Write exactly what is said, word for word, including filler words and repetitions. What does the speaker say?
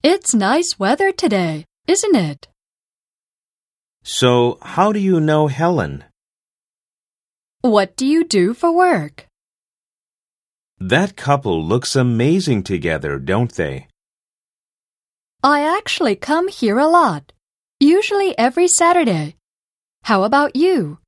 It's nice weather today, isn't it? So, how do you know Helen? What do you do for work? That couple looks amazing together, don't they? I actually come here a lot, usually every Saturday. How about you?